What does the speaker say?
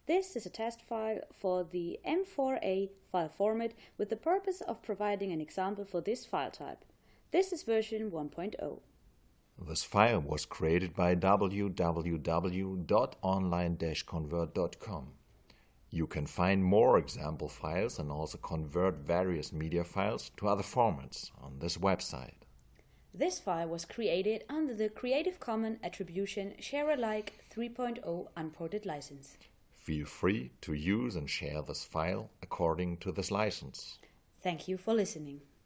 This is a test file for the M4A file format with the purpose of providing an example for this file type. This is version 1.0. This file was created by www.online-convert.com. You can find more example files and also convert various media files to other formats on this website. This file was created under the Creative Commons Attribution Share Alike 3.0 Unported license. Feel free to use and share this file according to this license. Thank you for listening.